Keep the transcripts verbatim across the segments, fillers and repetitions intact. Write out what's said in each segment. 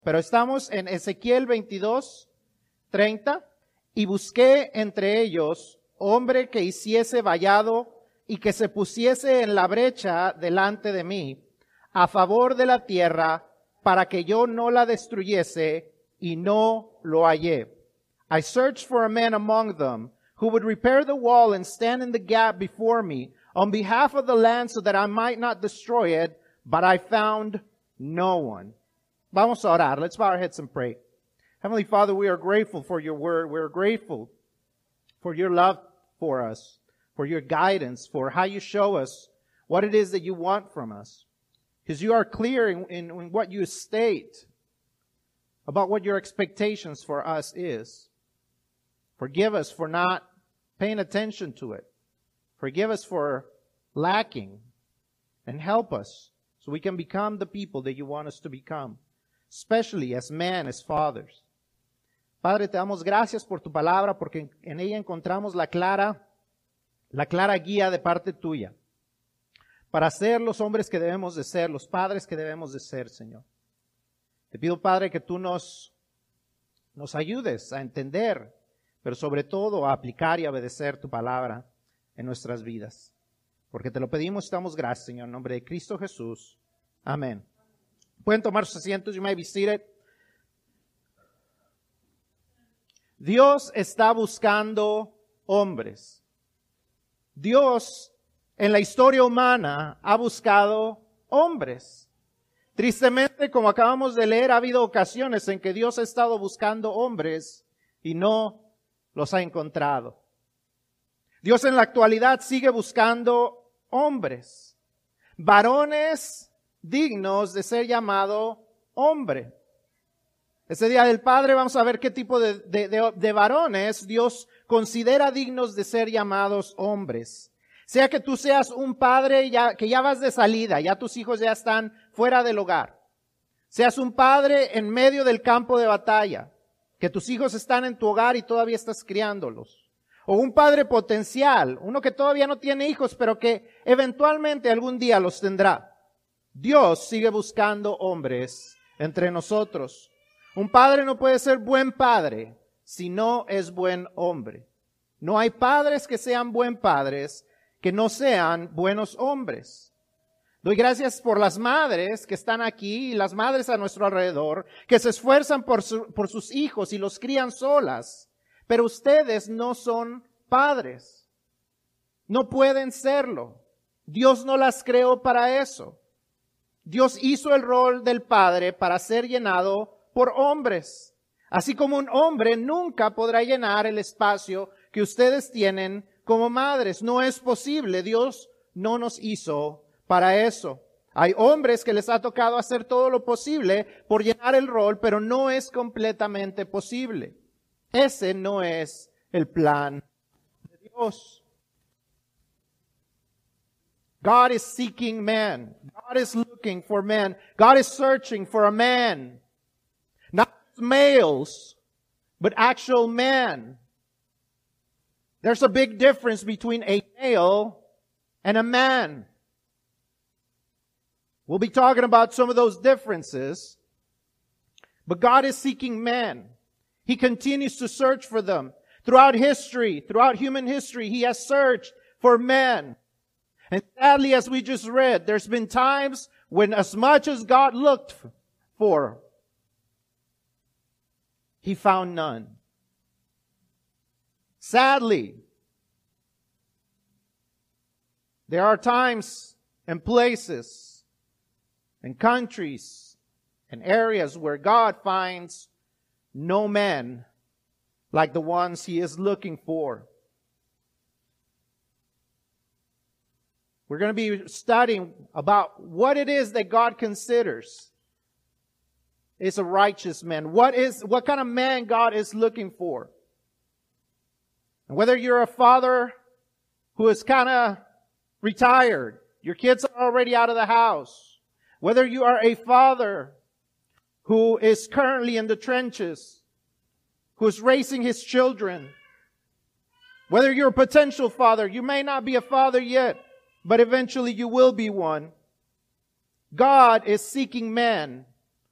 Pero estamos en Ezequiel veintidós, treinta. Y busqué entre ellos hombre que hiciese vallado y que se pusiese en la brecha delante de mí, a favor de la tierra, para que yo no la destruyese, y no lo hallé. I searched for a man among them, who would repair the wall and stand in the gap before me, on behalf of the land, so that I might not destroy it, but I found no one. Vamos a orar. Let's bow our heads and pray. Heavenly Father, we are grateful for your word. We are grateful for your love for us, for your guidance, for how you show us what it is that you want from us. Because you are clear in, in, in what you state about what your expectations for us is. Forgive us for not paying attention to it. Forgive us for lacking. And help us so we can become the people that you want us to become, especially as men, as fathers. Padre, te damos gracias por tu palabra, porque en ella encontramos la clara, la clara guía de parte tuya para ser los hombres que debemos de ser, los padres que debemos de ser, Señor. Te pido, Padre, que tú nos, nos ayudes a entender, pero sobre todo a aplicar y a obedecer tu palabra en nuestras vidas. Porque te lo pedimos y te damos gracias, Señor, en nombre de Cristo Jesús. Amén. Pueden tomar sus asientos. You may be seated. Dios está buscando hombres. Dios en la historia humana ha buscado hombres. Tristemente, como acabamos de leer, ha habido ocasiones en que Dios ha estado buscando hombres y no los ha encontrado. Dios en la actualidad sigue buscando hombres, varones dignos de ser llamado hombre. Ese día del Padre vamos a ver qué tipo de, de, de, de varones Dios considera dignos de ser llamados hombres. Sea que tú seas un padre ya, que ya vas de salida, ya tus hijos ya están fuera del hogar. Seas un padre en medio del campo de batalla, que tus hijos están en tu hogar y todavía estás criándolos. O un padre potencial, uno que todavía no tiene hijos, pero que eventualmente algún día los tendrá. Dios sigue buscando hombres entre nosotros. Un padre no puede ser buen padre si no es buen hombre. No hay padres que sean buen padres que no sean buenos hombres. Doy gracias por las madres que están aquí y las madres a nuestro alrededor que se esfuerzan por, su, por sus hijos y los crían solas. Pero ustedes no son padres. No pueden serlo. Dios no las creó para eso. Dios hizo el rol del padre para ser llenado por hombres. Así como un hombre nunca podrá llenar el espacio que ustedes tienen como madres. No es posible. Dios no nos hizo para eso. Hay hombres que les ha tocado hacer todo lo posible por llenar el rol, pero no es completamente posible. Ese no es el plan de Dios. God is seeking men. God is looking for men. God is searching for a man. Not males, but actual men. There's a big difference between a male and a man. We'll be talking about some of those differences. But God is seeking men. He continues to search for them. Throughout history, throughout human history, He has searched for men. And sadly, as we just read, there's been times when as much as God looked for, He found none. Sadly, there are times and places and countries and areas where God finds no men like the ones He is looking for. We're going to be studying about what it is that God considers is a righteous man. What is, what kind of man God is looking for. And whether you're a father who is kind of retired, your kids are already out of the house. Whether you are a father who is currently in the trenches, who is raising his children. Whether you're a potential father, you may not be a father yet, but eventually you will be one. God is seeking men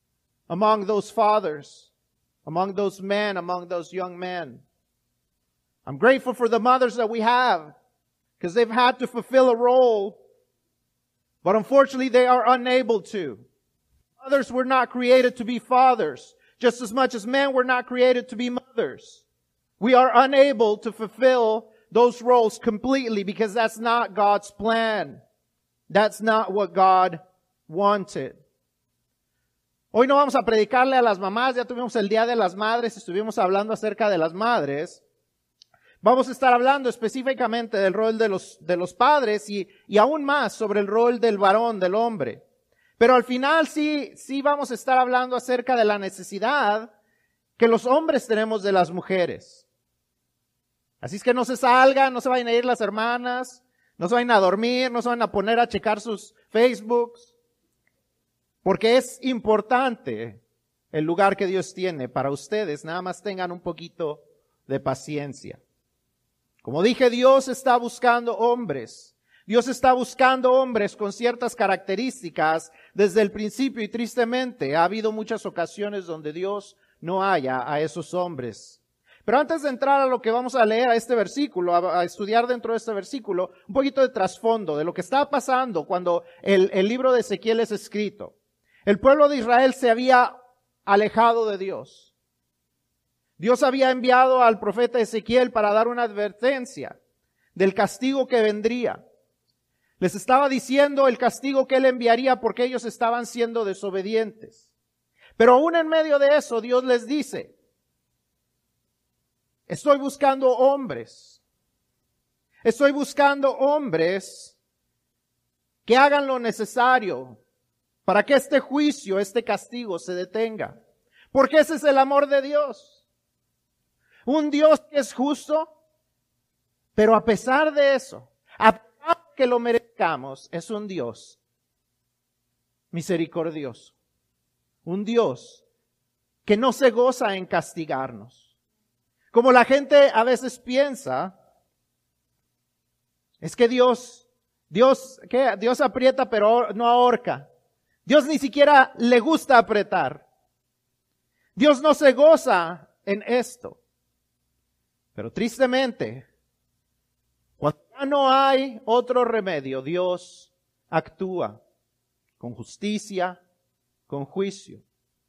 among those fathers, among those men, among those young men. I'm grateful for the mothers that we have because they've had to fulfill a role, but unfortunately they are unable to. Mothers were not created to be fathers, just as much as men were not created to be mothers. We are unable to fulfill those roles completely because that's not God's plan. That's not what God wanted. Hoy no vamos a predicarle a las mamás, ya tuvimos el Día de las Madres, estuvimos hablando acerca de las madres. Vamos a estar hablando específicamente del rol de los, de los padres y, y aún más sobre el rol del varón, del hombre. Pero al final sí, sí vamos a estar hablando acerca de la necesidad que los hombres tenemos de las mujeres. Así es que no se salgan, no se vayan a ir las hermanas, no se vayan a dormir, no se van a poner a checar sus Facebooks. Porque es importante el lugar que Dios tiene para ustedes. Nada más tengan un poquito de paciencia. Como dije, Dios está buscando hombres. Dios está buscando hombres con ciertas características desde el principio y tristemente ha habido muchas ocasiones donde Dios no haya a esos hombres. Pero antes de entrar a lo que vamos a leer a este versículo, a, a estudiar dentro de este versículo, un poquito de trasfondo de lo que estaba pasando cuando el, el libro de Ezequiel es escrito. El pueblo de Israel se había alejado de Dios. Dios había enviado al profeta Ezequiel para dar una advertencia del castigo que vendría. Les estaba diciendo el castigo que él enviaría porque ellos estaban siendo desobedientes. Pero aún en medio de eso, Dios les dice, estoy buscando hombres. Estoy buscando hombres que hagan lo necesario para que este juicio, este castigo se detenga. Porque ese es el amor de Dios. Un Dios que es justo, pero a pesar de eso, a pesar de que lo merezcamos, es un Dios misericordioso. Un Dios que no se goza en castigarnos. Como la gente a veces piensa, es que Dios, Dios, ¿qué? Dios aprieta pero no ahorca. Dios ni siquiera le gusta apretar. Dios no se goza en esto. Pero tristemente, cuando ya no hay otro remedio, Dios actúa con justicia, con juicio.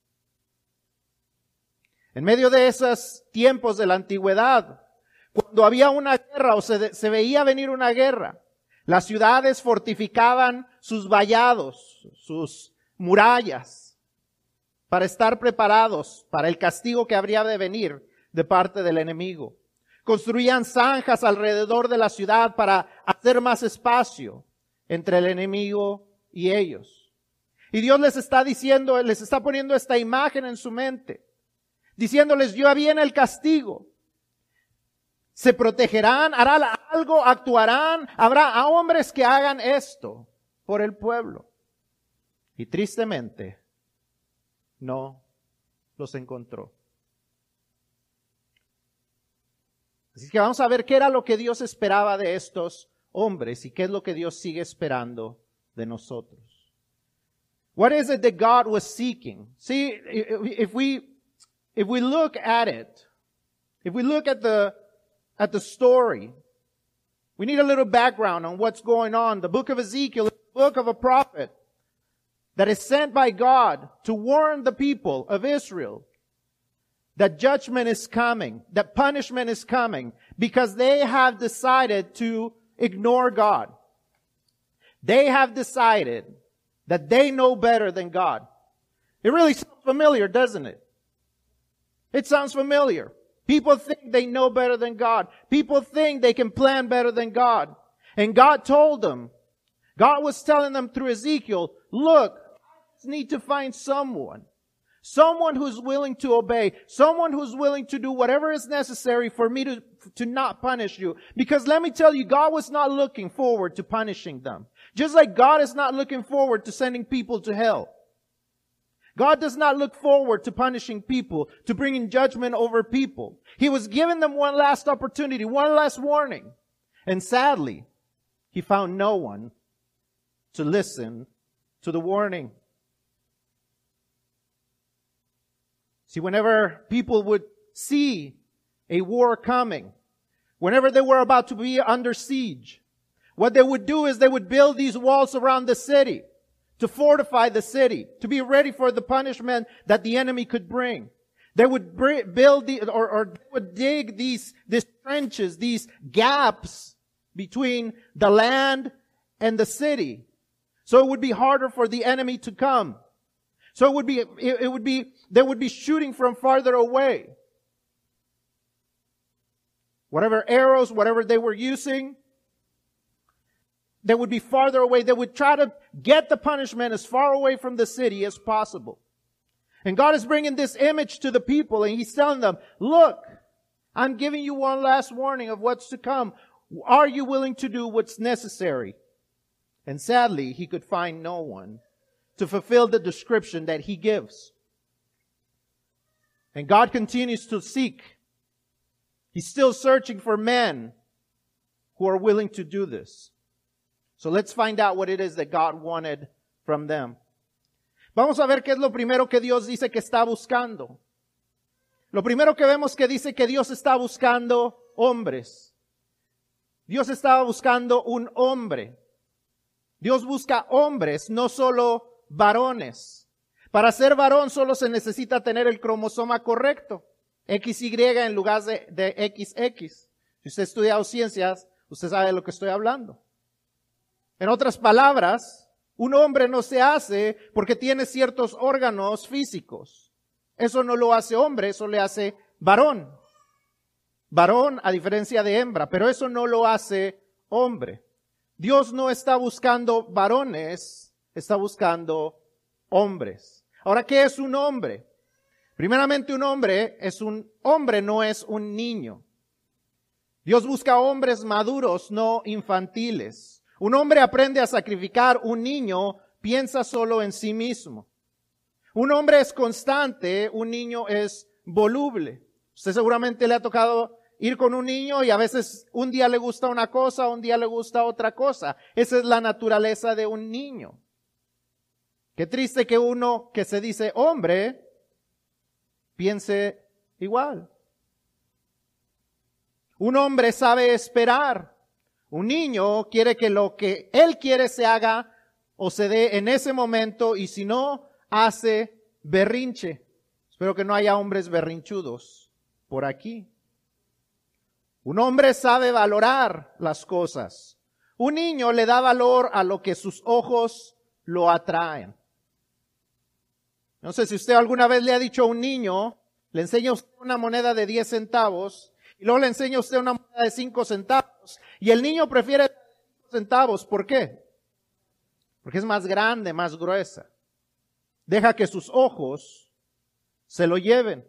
En medio de esos tiempos de la antigüedad, cuando había una guerra o se, se veía venir una guerra, las ciudades fortificaban sus vallados, sus murallas, para estar preparados para el castigo que habría de venir de parte del enemigo. Construían zanjas alrededor de la ciudad para hacer más espacio entre el enemigo y ellos. Y Dios les está diciendo, les está poniendo esta imagen en su mente, diciéndoles, ya viene el castigo. Se protegerán, harán algo, actuarán, habrá hombres que hagan esto por el pueblo. Y tristemente, no los encontró. Así que vamos a ver qué era lo que Dios esperaba de estos hombres y qué es lo que Dios sigue esperando de nosotros. What is it that God was seeking? See, if we, if we look at it, if we look at the, at the story, we need a little background on what's going on. The book of Ezekiel is the book of a prophet that is sent by God to warn the people of Israel that judgment is coming, that punishment is coming, because they have decided to ignore God. They have decided that they know better than God. It really sounds familiar, doesn't it? It sounds familiar. People think they know better than God. People think they can plan better than God. And God told them, God was telling them through Ezekiel, look, I just need to find someone. Someone who's willing to obey. Someone who's willing to do whatever is necessary for me to, to not punish you. Because let me tell you, God was not looking forward to punishing them. Just like God is not looking forward to sending people to hell. God does not look forward to punishing people, to bringing judgment over people. He was giving them one last opportunity, one last warning. And sadly, He found no one to listen to the warning. See, whenever people would see a war coming, whenever they were about to be under siege, what they would do is they would build these walls around the city to fortify the city, to be ready for the punishment that the enemy could bring. They would build the, or, or they would dig these, these trenches, these gaps between the land and the city. So it would be harder for the enemy to come. So it would be, it, it would be, they would be shooting from farther away. Whatever arrows, whatever they were using, they would be farther away. They would try to get the punishment as far away from the city as possible. And God is bringing this image to the people, and He's telling them, look, I'm giving you one last warning of what's to come. Are you willing to do what's necessary? And sadly, He could find no one to fulfill the description that He gives. And God continues to seek. He's still searching for men who are willing to do this. So let's find out what it is that God wanted from them. Vamos a ver qué es lo primero que Dios dice que está buscando. Lo primero que vemos que dice que Dios está buscando hombres. Dios estaba buscando un hombre. Dios busca hombres, no solo varones. Para ser varón solo se necesita tener el cromosoma correcto. equis y en lugar de, de equis equis. Si usted ha estudiado ciencias, usted sabe de lo que estoy hablando. En otras palabras, un hombre no se hace porque tiene ciertos órganos físicos. Eso no lo hace hombre, eso le hace varón. Varón a diferencia de hembra, pero eso no lo hace hombre. Dios no está buscando varones, está buscando hombres. Ahora, ¿qué es un hombre? Primeramente, un hombre es un hombre, no es un niño. Dios busca hombres maduros, no infantiles. Un hombre aprende a sacrificar, un niño piensa solo en sí mismo. Un hombre es constante, un niño es voluble. Usted seguramente le ha tocado ir con un niño y a veces un día le gusta una cosa, un día le gusta otra cosa. Esa es la naturaleza de un niño. Qué triste que uno que se dice hombre piense igual. Un hombre sabe esperar. Un niño quiere que lo que él quiere se haga o se dé en ese momento, y si no, hace berrinche. Espero que no haya hombres berrinchudos por aquí. Un hombre sabe valorar las cosas. Un niño le da valor a lo que sus ojos lo atraen. No sé si usted alguna vez le ha dicho a un niño, le enseña a usted una moneda de diez centavos, y luego le enseña a usted una moneda de cinco centavos, y el niño prefiere cinco centavos. ¿Por qué? Porque es más grande, más gruesa. Deja que sus ojos se lo lleven.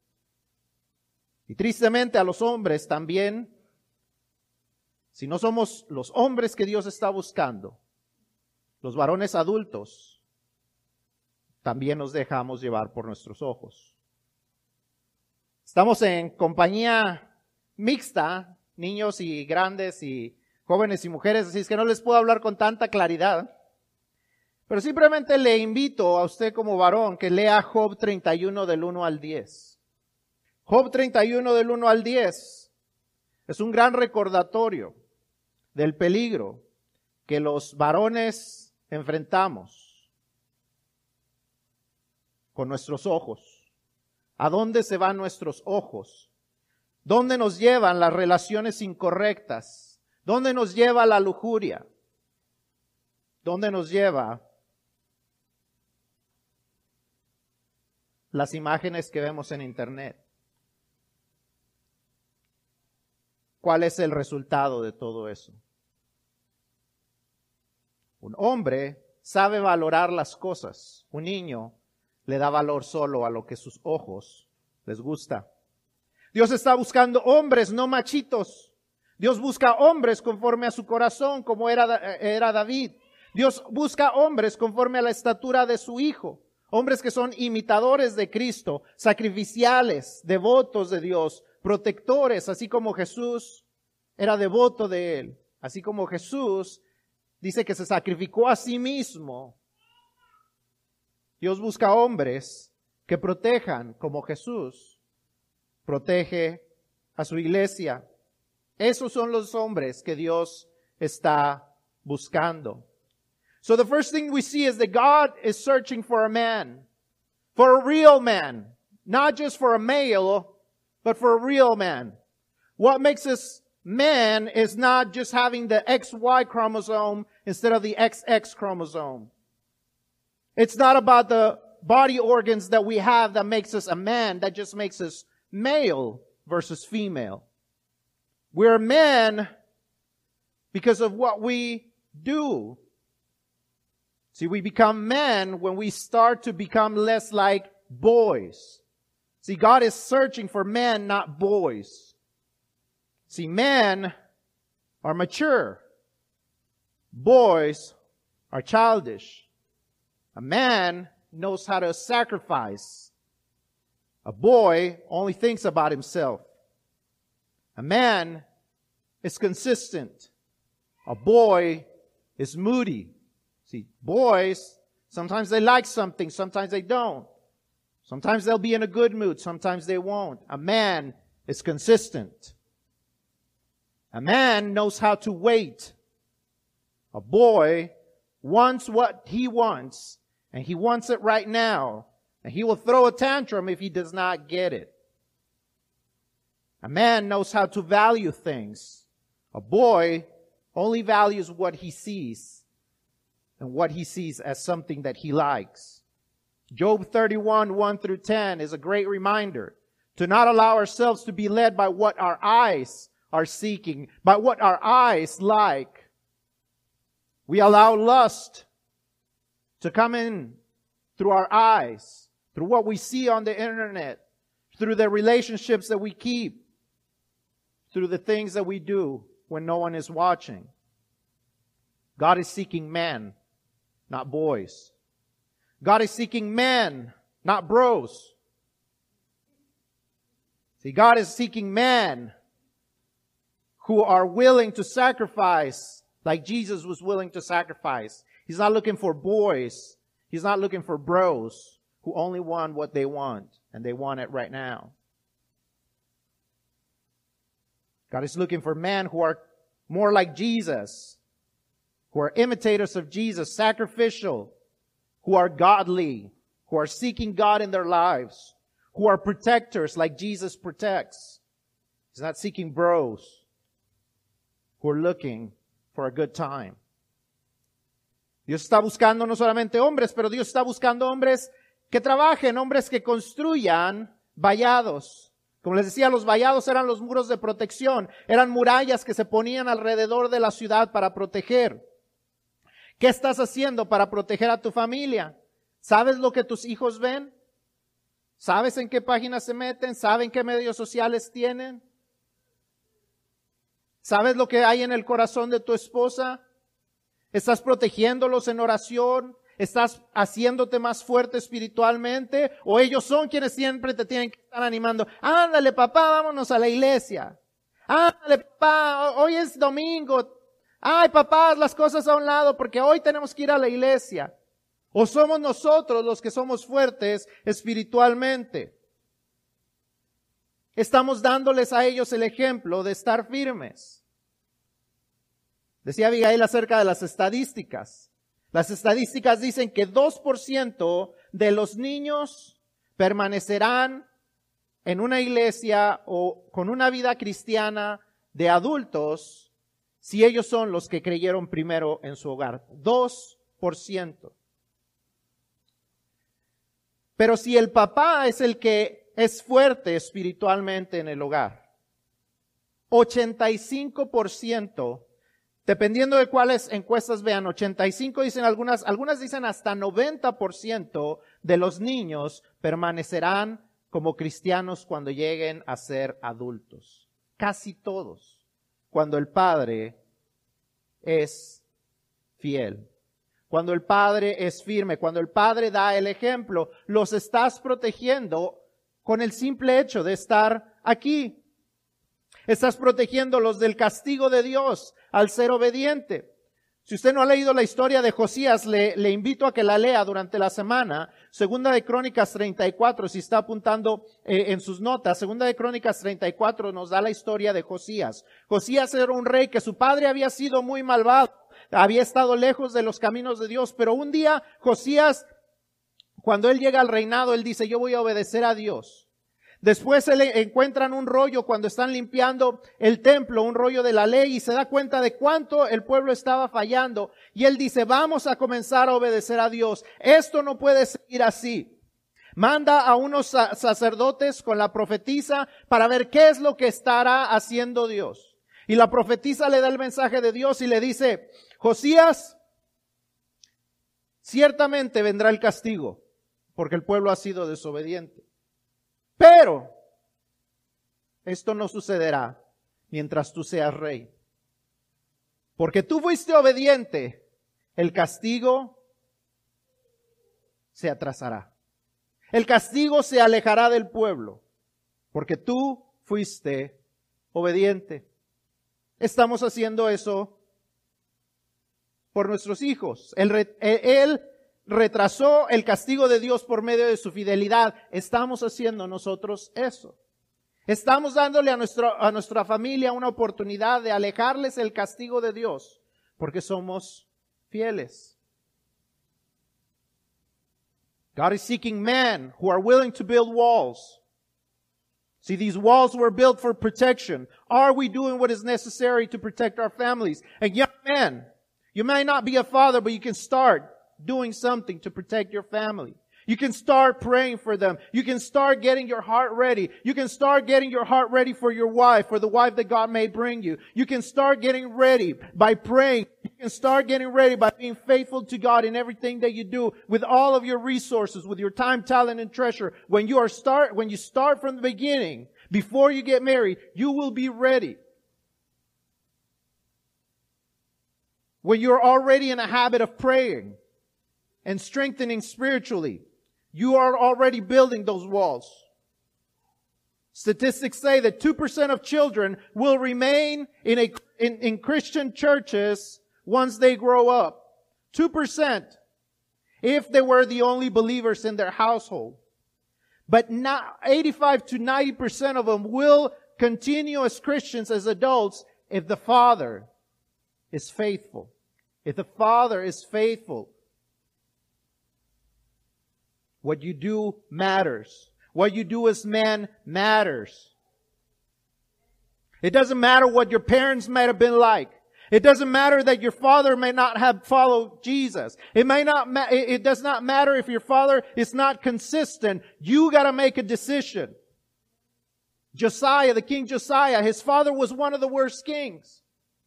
Y tristemente a los hombres también, si no somos los hombres que Dios está buscando, los varones adultos, también nos dejamos llevar por nuestros ojos. Estamos en compañía mixta, niños y grandes y jóvenes y mujeres, así es que no les puedo hablar con tanta claridad. Pero simplemente le invito a usted como varón que lea Job treinta y uno del uno al diez. Job treinta y uno del uno al diez es un gran recordatorio del peligro que los varones enfrentamos con nuestros ojos. ¿A dónde se van nuestros ojos? ¿Dónde nos llevan las relaciones incorrectas? ¿Dónde nos lleva la lujuria? ¿Dónde nos lleva las imágenes que vemos en internet? ¿Cuál es el resultado de todo eso? Un hombre sabe valorar las cosas. Un niño le da valor solo a lo que sus ojos les gusta. Dios está buscando hombres, no machitos. Dios busca hombres conforme a su corazón, como era, era David. Dios busca hombres conforme a la estatura de su Hijo. Hombres que son imitadores de Cristo, sacrificiales, devotos de Dios, protectores, así como Jesús era devoto de Él. Así como Jesús dice que se sacrificó a sí mismo. Dios busca hombres que protejan como Jesús protege a su iglesia. Esos son los hombres que Dios está buscando. So the first thing we see is that God is searching for a man, for a real man, not just for a male, but for a real man. What makes us man is not just having the X Y chromosome instead of the X X chromosome. It's not about the body organs that we have that makes us a man, that just makes us male versus female. We're men because of what we do. See, we become men when we start to become less like boys. See, God is searching for men, not boys. See, men are mature. Boys are childish. A man knows how to sacrifice. A boy only thinks about himself. A man is consistent. A boy is moody. See, boys, sometimes they like something, sometimes they don't. Sometimes they'll be in a good mood, sometimes they won't. A man is consistent. A man knows how to wait. A boy wants what he wants, and he wants it right now. And he will throw a tantrum if he does not get it. A man knows how to value things. A boy only values what he sees, and what he sees as something that he likes. Job thirty-one, one through ten is a great reminder to not allow ourselves to be led by what our eyes are seeking, by what our eyes like. We allow lust to come in through our eyes, through what we see on the internet, through the relationships that we keep, through the things that we do when no one is watching. God is seeking men, not boys. God is seeking men, not bros. See, God is seeking men who are willing to sacrifice like Jesus was willing to sacrifice. He's not looking for boys. He's not looking for bros who only want what they want, and they want it right now. God is looking for men who are more like Jesus, who are imitators of Jesus, sacrificial, who are godly, who are seeking God in their lives, who are protectors like Jesus protects. He's not seeking bros who are looking for a good time. Dios está buscando no solamente hombres, pero Dios está buscando hombres que trabajen, hombres que construyan vallados. Como les decía, los vallados eran los muros de protección, eran murallas que se ponían alrededor de la ciudad para proteger. ¿Qué estás haciendo para proteger a tu familia? ¿Sabes lo que tus hijos ven? ¿Sabes en qué páginas se meten? ¿Saben qué medios sociales tienen? ¿Sabes lo que hay en el corazón de tu esposa? ¿Estás protegiéndolos en oración? ¿Estás haciéndote más fuerte espiritualmente? ¿O ellos son quienes siempre te tienen que estar animando? Ándale, papá, vámonos a la iglesia. Ándale, papá, hoy es domingo. Ay, papá, haz las cosas a un lado porque hoy tenemos que ir a la iglesia. ¿O somos nosotros los que somos fuertes espiritualmente? Estamos dándoles a ellos el ejemplo de estar firmes. Decía Abigail acerca de las estadísticas. Las estadísticas dicen que dos por ciento de los niños permanecerán en una iglesia o con una vida cristiana de adultos si ellos son los que creyeron primero en su hogar. dos por ciento. Pero si el papá es el que es fuerte espiritualmente en el hogar, ochenta y cinco por ciento, dependiendo de cuáles encuestas vean, ochenta y cinco dicen algunas, algunas dicen hasta noventa por ciento de los niños permanecerán como cristianos cuando lleguen a ser adultos. Casi todos. Cuando el padre es fiel, cuando el padre es firme, cuando el padre da el ejemplo, los estás protegiendo con el simple hecho de estar aquí. Estás protegiéndolos del castigo de Dios al ser obediente. Si usted no ha leído la historia de Josías, le, le invito a que la lea durante la semana. Segunda de Crónicas treinta y cuatro, si está apuntando eh, en sus notas. Segunda de Crónicas treinta y cuatro nos da la historia de Josías. Josías era un rey que su padre había sido muy malvado. Había estado lejos de los caminos de Dios. Pero un día Josías, cuando él llega al reinado, él dice, yo voy a obedecer a Dios. Después se le encuentran un rollo cuando están limpiando el templo, un rollo de la ley, y se da cuenta de cuánto el pueblo estaba fallando. Y él dice, vamos a comenzar a obedecer a Dios. Esto no puede seguir así. Manda a unos sacerdotes con la profetisa para ver qué es lo que estará haciendo Dios. Y la profetisa le da el mensaje de Dios y le dice, Josías, ciertamente vendrá el castigo, porque el pueblo ha sido desobediente. Pero esto no sucederá mientras tú seas rey. Porque tú fuiste obediente, el castigo se atrasará. El castigo se alejará del pueblo, porque tú fuiste obediente. Estamos haciendo eso por nuestros hijos. Él, él retrasó el castigo de Dios por medio de su fidelidad. Estamos haciendo nosotros eso. Estamos dándole a, nuestro, a nuestra familia una oportunidad de alejarles el castigo de Dios, porque somos fieles. God is seeking men who are willing to build walls. See, these walls were built for protection. Are we doing what is necessary to protect our families? And young men, you may not be a father, but you can start doing something to protect your family. You can start praying for them. You can start getting your heart ready. You can start getting your heart ready for your wife, for the wife that God may bring you. You can start getting ready by praying. You can start getting ready by being faithful to God in everything that you do, with all of your resources, with your time, talent, and treasure. When you are start, when you start from the beginning, before you get married, you will be ready. When you're already in a habit of praying and strengthening spiritually, you are already building those walls. Statistics say that two percent of children will remain in a in, in Christian churches once they grow up. two percent if they were the only believers in their household. But not eighty-five to ninety percent of them will continue as Christians, as adults, if the father is faithful. If the father is faithful. What you do matters. What you do as men matters. It doesn't matter what your parents might have been like. It doesn't matter that your father may not have followed Jesus. It may not ma- it does not matter if your father is not consistent. You got to make a decision. Josiah, the king Josiah, his father was one of the worst kings.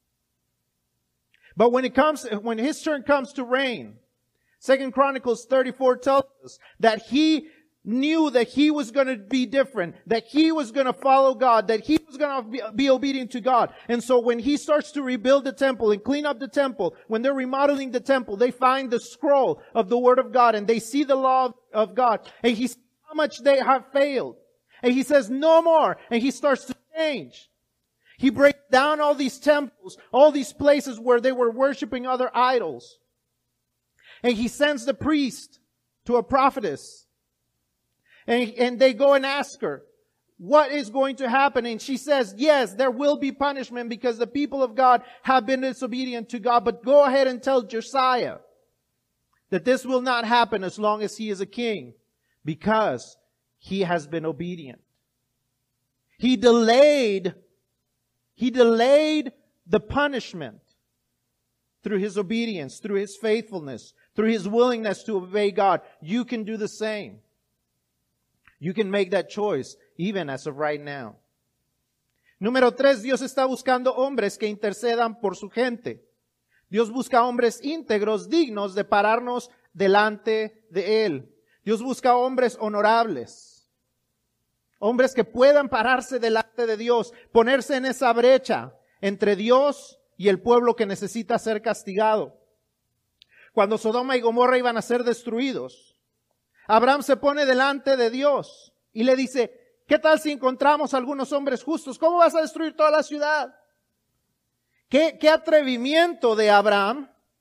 But when it comes when his turn comes to reign, Second Chronicles thirty-four tells us that he knew that he was going to be different, that he was going to follow God, that he was going to be, be obedient to God. And so when he starts to rebuild the temple and clean up the temple, when they're remodeling the temple, they find the scroll of the Word of God and they see the law of God. And he sees how much they have failed. And he says, no more. And he starts to change. He breaks down all these temples, all these places where they were worshiping other idols. And he sends the priest to a prophetess. And, and they go and ask her, what is going to happen? And she says, yes, there will be punishment because the people of God have been disobedient to God. But go ahead and tell Josiah that this will not happen as long as he is a king, because he has been obedient. He delayed, he delayed the punishment through his obedience, through his faithfulness, through his willingness to obey God. You can do the same. You can make that choice, even as of right now. Número tres, Dios está buscando hombres que intercedan por su gente. Dios busca hombres íntegros, dignos de pararnos delante de Él. Dios busca hombres honorables. Hombres que puedan pararse delante de Dios, ponerse en esa brecha entre Dios y el pueblo que necesita ser castigado. Cuando Sodoma y Gomorra iban a ser destruidos, Abraham se pone delante de Dios y le dice, ¿qué tal si encontramos algunos hombres justos? ¿Cómo vas a destruir toda la ciudad? ¿Qué, qué atrevimiento de Abraham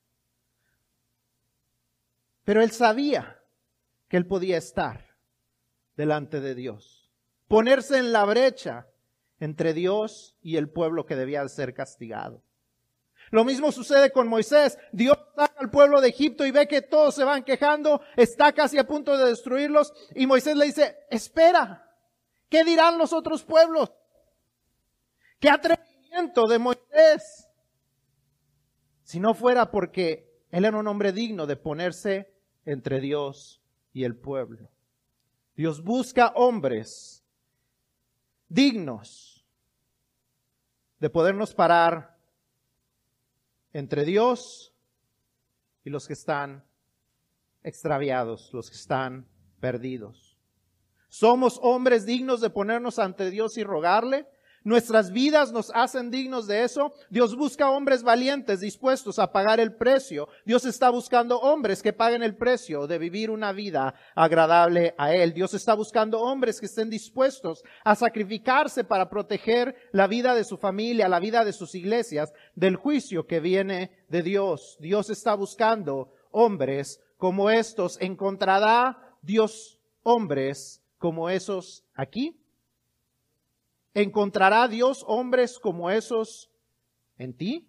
Pero él sabía que él podía estar delante de Dios, ponerse en la brecha entre Dios y el pueblo que debía ser castigado. Lo mismo sucede con Moisés. Dios saca al pueblo de Egipto y ve que todos se van quejando, está casi a punto de destruirlos, y Moisés le dice, espera, ¿qué dirán los otros pueblos? ¡Qué atrevimiento de Moisés! Si no fuera porque él era un hombre digno de ponerse entre Dios y el pueblo. Dios busca hombres dignos de podernos parar entre Dios y los que están extraviados, los que están perdidos. ¿Somos hombres dignos de ponernos ante Dios y rogarle? ¿Nuestras vidas nos hacen dignos de eso? Dios busca hombres valientes, dispuestos a pagar el precio. Dios está buscando hombres que paguen el precio de vivir una vida agradable a Él. Dios está buscando hombres que estén dispuestos a sacrificarse para proteger la vida de su familia, la vida de sus iglesias, del juicio que viene de Dios. Dios está buscando hombres como estos. ¿Encontrará Dios hombres como esos aquí? ¿Encontrará Dios hombres como esos en ti?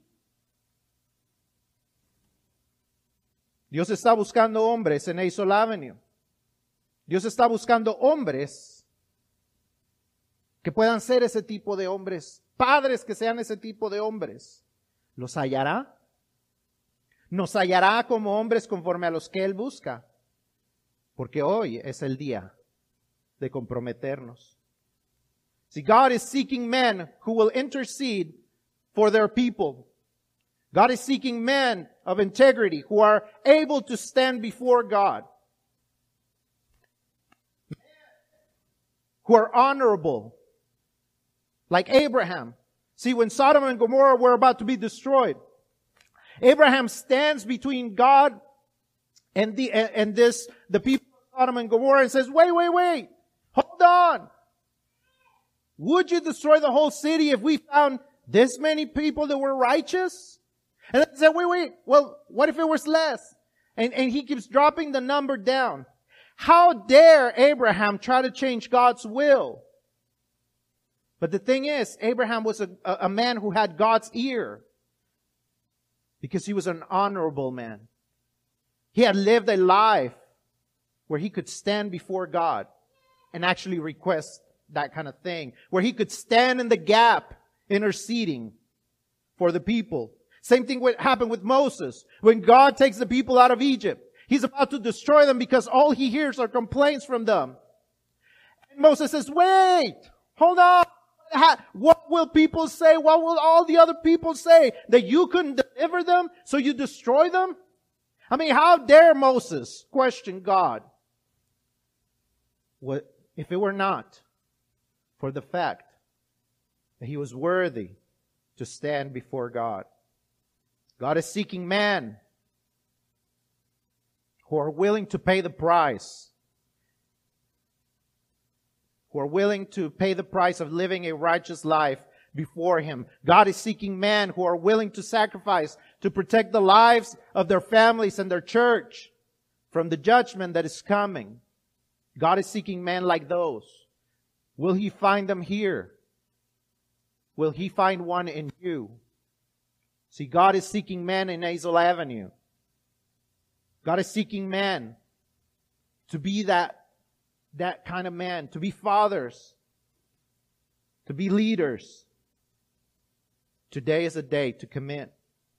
Dios está buscando hombres en Azle Avenue. Dios está buscando hombres que puedan ser ese tipo de hombres, padres que sean ese tipo de hombres. ¿Los hallará? ¿Nos hallará como hombres conforme a los que Él busca? Porque hoy es el día de comprometernos. See, God is seeking men who will intercede for their people. God is seeking men of integrity who are able to stand before God. Who are honorable. Like Abraham. See, when Sodom and Gomorrah were about to be destroyed, Abraham stands between God and the and this the people of Sodom and Gomorrah and says, wait, wait, wait. Hold on. Would you destroy the whole city if we found this many people that were righteous? And they said, wait, wait, well, what if it was less? And, and he keeps dropping the number down. How dare Abraham try to change God's will? But the thing is, Abraham was a, a man who had God's ear because he was an honorable man. He had lived a life where he could stand before God and actually request that kind of thing, where he could stand in the gap interceding for the people. Same thing would happen with Moses. When God takes the people out of Egypt, He's about to destroy them because all he hears are complaints from them. And Moses says, wait, hold on. What will people say? What will all the other people say? That you couldn't deliver them, so you destroy them? I mean, how dare Moses question God? What if it were not for the fact that he was worthy to stand before God? God is seeking men who are willing to pay the price, who are willing to pay the price of living a righteous life before Him. God is seeking men who are willing to sacrifice to protect the lives of their families and their church from the judgment that is coming. God is seeking men like those. Will He find them here? Will He find one in you? See, God is seeking men in Azle Avenue. God is seeking men to be that, that kind of man, to be fathers, to be leaders. Today is a day to commit.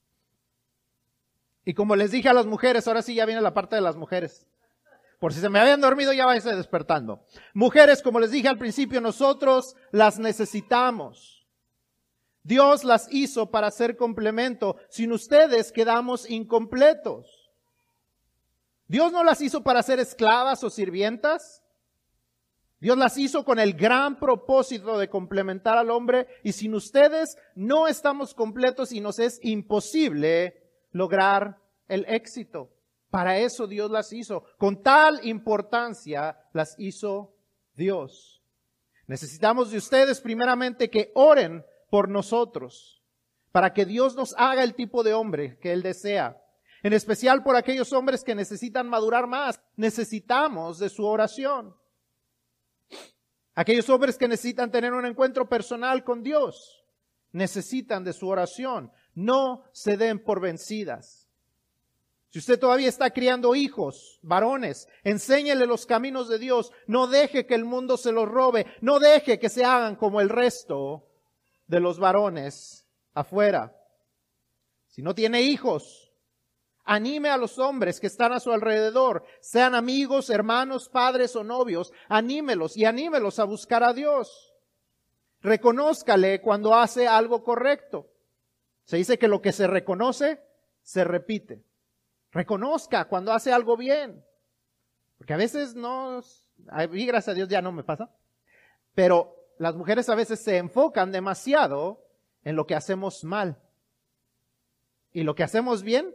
Y como les dije a las mujeres, ahora sí ya viene la parte de las mujeres. Por si se me habían dormido, ya váyanse despertando. Mujeres, como les dije al principio, nosotros las necesitamos. Dios las hizo para ser complemento. Sin ustedes quedamos incompletos. Dios no las hizo para ser esclavas o sirvientas. Dios las hizo con el gran propósito de complementar al hombre, y sin ustedes no estamos completos y nos es imposible lograr el éxito. Para eso Dios las hizo. Con tal importancia las hizo Dios. Necesitamos de ustedes primeramente que oren por nosotros, para que Dios nos haga el tipo de hombre que Él desea. En especial por aquellos hombres que necesitan madurar más. Necesitamos de su oración. Aquellos hombres que necesitan tener un encuentro personal con Dios. Necesitan de su oración. No se den por vencidas. Si usted todavía está criando hijos, varones, enséñele los caminos de Dios. No deje que el mundo se los robe. No deje que se hagan como el resto de los varones afuera. Si no tiene hijos, anime a los hombres que están a su alrededor, sean amigos, hermanos, padres o novios, anímelos y anímelos a buscar a Dios. Reconózcale cuando hace algo correcto. Se dice que lo que se reconoce, se repite. Reconozca cuando hace algo bien. Porque a veces no, a mí gracias a Dios ya no me pasa. Pero las mujeres a veces se enfocan demasiado en lo que hacemos mal. Y lo que hacemos bien,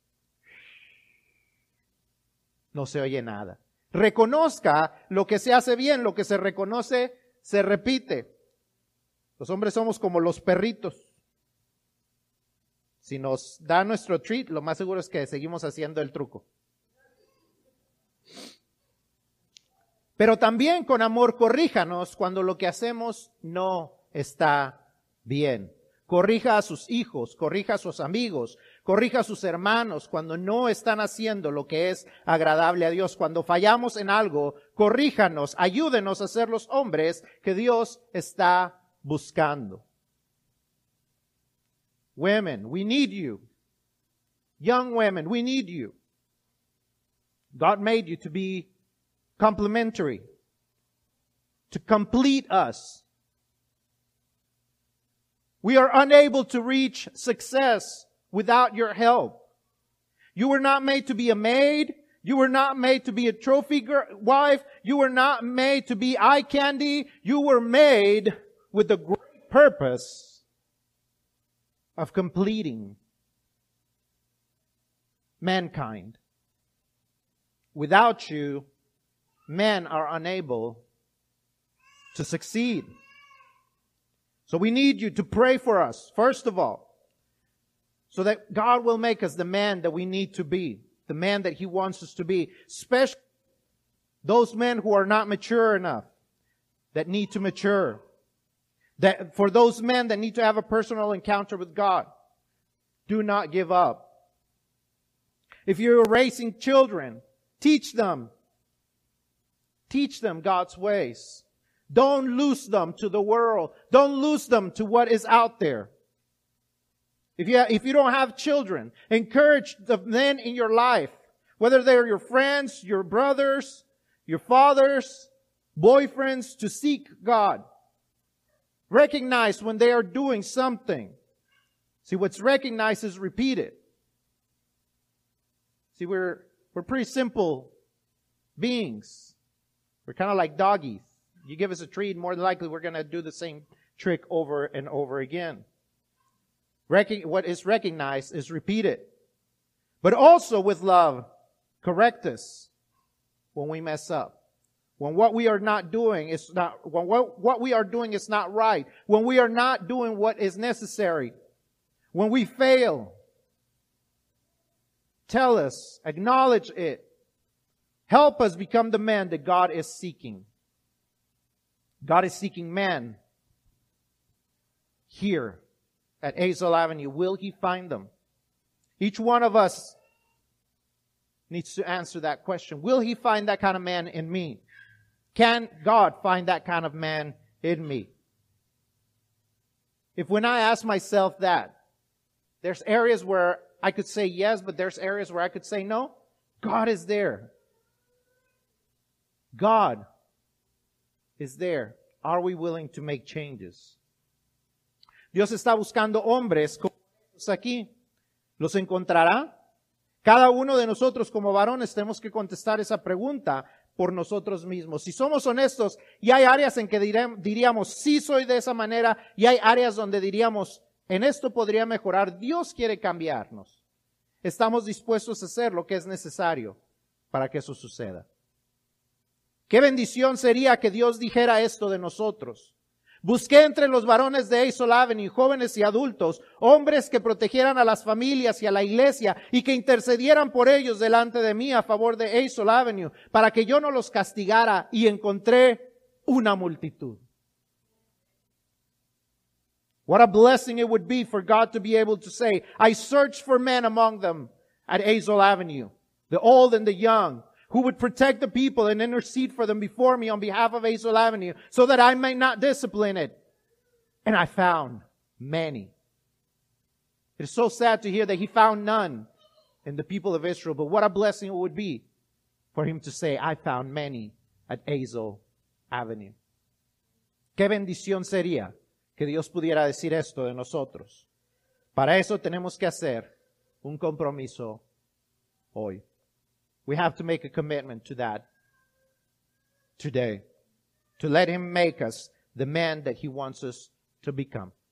no se oye nada. Reconozca lo que se hace bien, lo que se reconoce, se repite. Los hombres somos como los perritos. Si nos da nuestro treat, lo más seguro es que seguimos haciendo el truco. Pero también con amor corríjanos cuando lo que hacemos no está bien. Corrija a sus hijos, corrija a sus amigos, corrija a sus hermanos cuando no están haciendo lo que es agradable a Dios. Cuando fallamos en algo, corríjanos, ayúdenos a ser los hombres que Dios está buscando. Women, we need you. Young women, we need you. God made you to be complementary, to complete us. We are unable to reach success without your help. You were not made to be a maid. You were not made to be a trophy girl, wife. You were not made to be eye candy. You were made with the great purpose of completing mankind. Without you, men are unable to succeed. So we need you to pray for us, first of all, so that God will make us the man that we need to be, the man that He wants us to be, especially those men who are not mature enough, that need to mature. That for those men that need to have a personal encounter with God, do not give up. If you're raising children, teach them. Teach them God's ways. Don't lose them to the world. Don't lose them to what is out there. If you, if you don't have children, encourage the men in your life, whether they're your friends, your brothers, your fathers, boyfriends, to seek God. Recognize when they are doing something. See, what's recognized is repeated. See, we're, we're pretty simple beings. We're kind of like doggies. You give us a treat, more than likely we're going to do the same trick over and over again. Recog- what is recognized is repeated. But also with love, correct us when we mess up. When what we are not doing is not, when what, what we are doing is not right. When we are not doing what is necessary. When we fail. Tell us, acknowledge it. Help us become the man that God is seeking. God is seeking men here at Azle Avenue. Will He find them? Each one of us needs to answer that question. Will He find that kind of man in me? Can God find that kind of man in me? If when I ask myself that, there's areas where I could say yes, but there's areas where I could say no, God is there. God is there. Are we willing to make changes? Dios está buscando hombres como estos aquí. ¿Los encontrará? Cada uno de nosotros como varones tenemos que contestar esa pregunta por nosotros mismos. Si somos honestos, y hay áreas en que diré, diríamos, sí soy de esa manera, y hay áreas donde diríamos, en esto podría mejorar, Dios quiere cambiarnos. Estamos dispuestos a hacer lo que es necesario para que eso suceda. Qué bendición sería que Dios dijera esto de nosotros. Busqué entre los varones de Azle Avenue, jóvenes y adultos, hombres que protegieran a las familias y a la iglesia y que intercedieran por ellos delante de mí a favor de Azle Avenue, para que yo no los castigara, y encontré una multitud. What a blessing it would be for God to be able to say, I searched for men among them at Azle Avenue, the old and the young, who would protect the people and intercede for them before me on behalf of Azle Avenue, so that I might not discipline it. And I found many. It is so sad to hear that he found none in the people of Israel, but what a blessing it would be for him to say, I found many at Azle Avenue. Qué bendición sería que Dios pudiera decir esto de nosotros. Para eso tenemos que hacer un compromiso hoy. We have to make a commitment to that today, to let Him make us the man that He wants us to become.